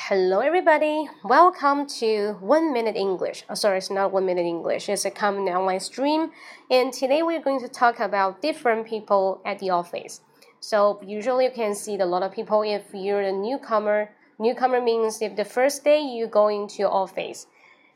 Hello everybody, welcome to 1 Minute English. Sorry, it's not 1 Minute English, it's a common online stream. And today we're going to talk about different people at the office. So usually you can see a lot of people if you're a newcomer. Newcomer means if the first day you go into your office.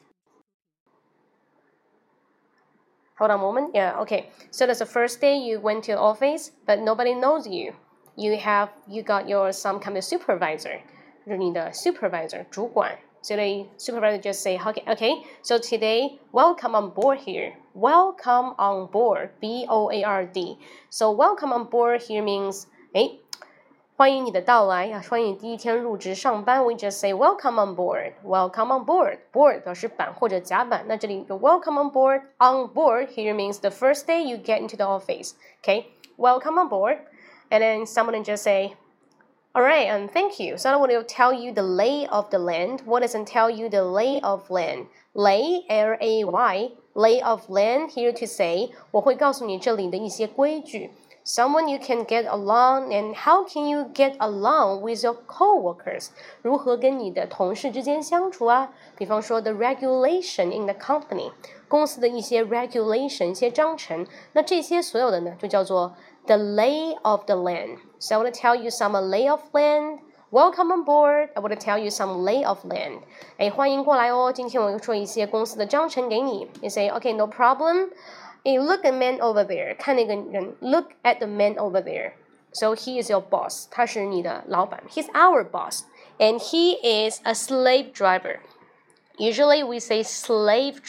Hold on a moment. Yeah, okay. So that's the first day you went to the office, but nobody knows you. You got your some kind of supervisor. 就是你的 supervisor 主管，所以 supervisor just say okay. So today, welcome on board here. Welcome on board, B-O-A-R-D. So welcome on board here means 欢迎你的到来啊，欢迎你第一天入职上班。We just say welcome on board. Welcome on board. Board 表示板或者甲板，那这里有 welcome on board. On board here means the first day you get into the office. Okay, welcome on board. And then someone just say.All right, thank you. So I want to tell you the lay of the land. What doesn't tell you the lay of land? Lay, L-A-Y, lay of land, here to say, 我会告诉你这里的一些规矩。Someone you can get along, and how can you get along with your co-workers? 如何跟你的同事之间相处啊？比方说 the regulation in the company, 公司的一些 regulation, 一些章程，那这些所有的呢，就叫做the lay of the land. So I want to tell you some lay of land. Welcome on board. I want to tell you some lay of land. 欢迎过来哦。今天我会说一些公司的章程给你。You say, okay, no problem. Look at man over there. 看那个人 Look at the man over there. So he is your boss. 他是你的老板。He's our boss. And he is a slave driver. Usually we say slave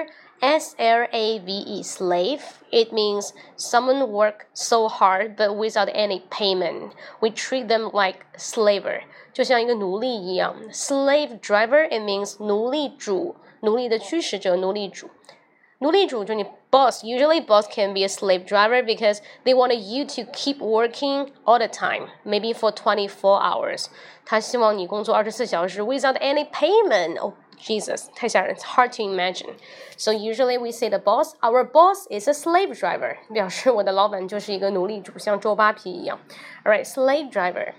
driver.S-L-A-V-E, slave. It means someone work so hard but without any payment. We treat them like slaver. 就像一个奴隶一样。Slave driver, it means 奴隶主，奴隶的驱使者，奴隶主。奴隶主就你 boss. Usually boss can be a slave driver because they want you to keep working all the time, maybe for 24 hours. 他希望你工作24小时 without any payment. Jesus, 太吓人 It's hard to imagine. So usually we say our boss is a slave driver. 表示我的老板就是一个奴隶主，像周扒皮一样。All right, slave driver.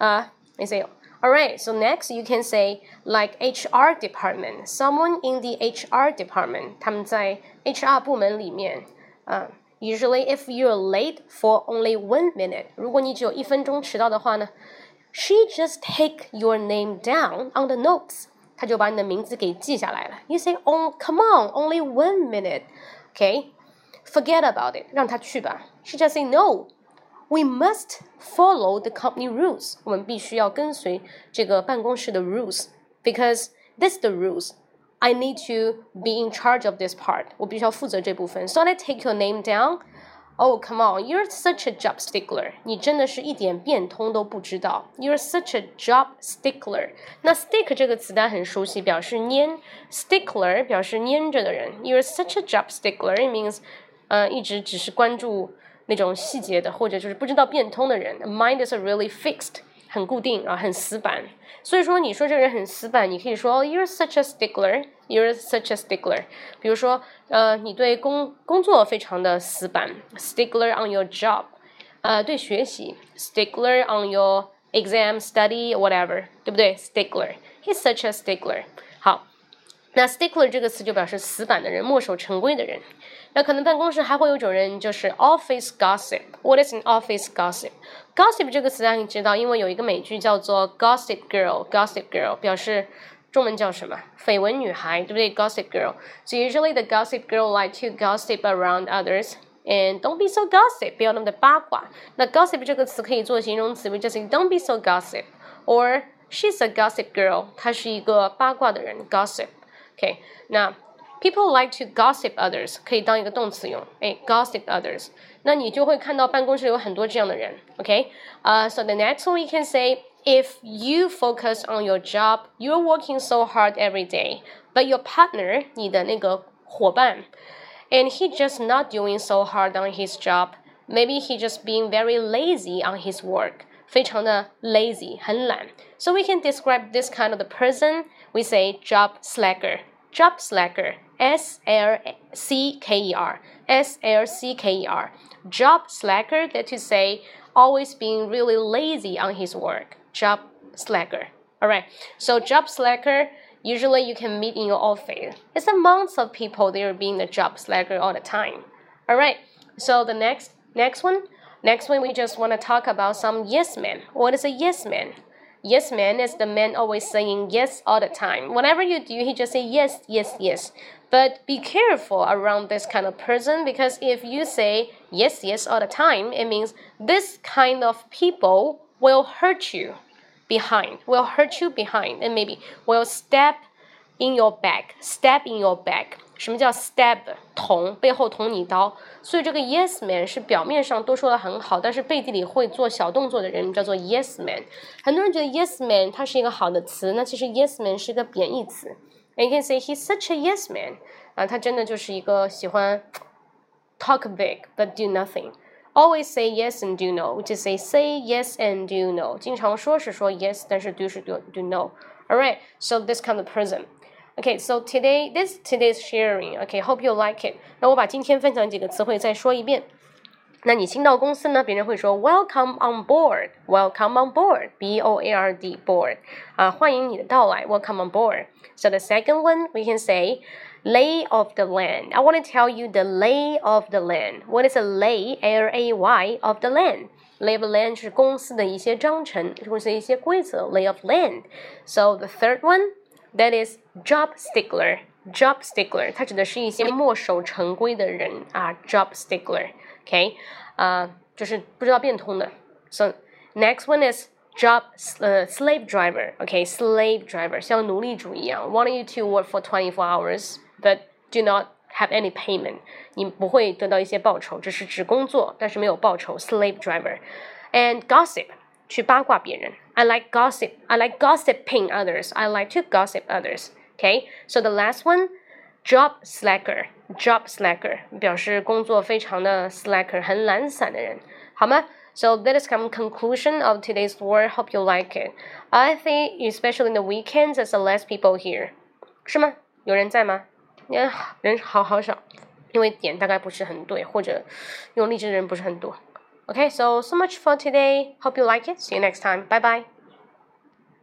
You say, all right, so next you can say like HR department. Someone in the HR department. 他们在 HR 部门里面。Usually if you're late for only 1 minute, 如果你只有1分钟迟到的话呢 she just take your name down on the notes.他就把你的名字给记下来了。You say, oh, come on, only 1 minute. Okay, forget about it. 让他去吧。She just say, no, we must follow the company rules. 我们必须要跟随这个办公室的 rules. Because that's the rules. I need to be in charge of this part. 我必须要负责这部分。So I take your name down.Oh, come on, you're such a job stickler. 你真的是一点变通都不知道。You're such a job stickler. 那 stick 这个词大家很熟悉，表示粘。Stickler 表示粘着的人。You're such a job stickler. It means 一直只是关注那种细节的，或者就是不知道变通的人。Mind is really fixed. 很固定啊，很死板。所以说你说这个人很死板，你可以说 You're such a stickler. You're such a stickler. 比如说你对工作非常的死板 Stickler on your job. 对学习 Stickler on your exam, study, whatever. 对不对 Stickler. He's such a stickler. 好，那 stickler 这个词就表示死板的人，墨守成规的人。那可能办公室还会有一种人，就是 office gossip. What is an office gossip? Gossip 这个词大家你知道，因为有一个美剧叫做 Gossip Girl. Gossip Girl 表示中文叫什么？绯闻女孩，对不对 ？Gossip Girl. So usually the gossip girl like to gossip around others. And don't be so gossip. 不要那么的八卦。那 gossip 这个词可以做形容词 ，we just say don't be so gossip. Or she's a gossip girl. 她是一个八卦的人 ，gossip. Okay. 那 people like to gossip others 可以当一个动词用。gossip others. 那你就会看到办公室有很多这样的人。Okay. So the next one we can say.If you focus on your job, you're working so hard every day, but your partner, 你的那个伙伴 and he just not doing so hard on his job, maybe he just being very lazy on his work, 非常的 lazy, 很懒 So we can describe this kind of the person, we say job slacker. Job slacker, S-L-C-K-E-R, S-L-C-K-E-R. Job slacker, that to say always being really lazy on his work. Job slacker. Alright, so job slacker, usually you can meet in your office. It's amongst of people they are being the job slacker all the time. Alright, so the next one we just want to talk about some yes men. What is a yes man? Yes man is the man always saying yes all the time. Whatever you do, he just say yes, yes, yes. But be careful around this kind of person because if you say yes, yes all the time, it means this kind of people will hurt you behind, and maybe will stab in your back. 什么叫 stab？ 捅，背后捅你刀。所以这个 yes man 是表面上都说的很好，但是背地里会做小动作的人叫做 yes man。很多人觉得 yes man 它是一个好的词，那其实 yes man 是一个贬义词。And you can say he's such a yes man。他真的就是一个喜欢 talk big but do nothing。Always say yes and do no, which is say yes and do no. 经常说是说 yes， 但是 do 是 do no. Alright, so this kind of person.Okay, so today's sharing. Okay, hope you like it. 那我把今天分享几个词汇再说一遍。那你新到公司呢，别人会说 Welcome on board, Welcome on board, B-O-A-R-D, board. 欢迎你的到来 Welcome on board. So the second one, we can say lay of the land. I want to tell you the lay of the land. What is a lay, L-A-Y, of the land? Lay of the land 是公司的一些章程，或者一些规则 lay of land. So the third one,That is job stickler. Job stickler， 它指的是一些墨守成规的人job stickler. Okay， 就是不知道变通的。So next one is job slave driver. Okay, slave driver 像奴隶主一样 ，wanting you to work for 24 hours, but do not have any payment. 你不会得到一些报酬，只工作，但是没有报酬。Slave driver and gossip.去八卦别人 I like gossip. I like gossiping others. I like to gossip others. Okay, so the last one, job slacker. Job slacker 表示工作非常的 slacker 很懒散的人，好吗？ So that is come conclusion of today's word. Hope you like it. I think especially in the weekends there's less people here. 是吗？有人在吗？人好少，因为点大概不是很对，或者用荔枝的人不是很多。Okay, so much for today. Hope you like it. See you next time. Bye bye.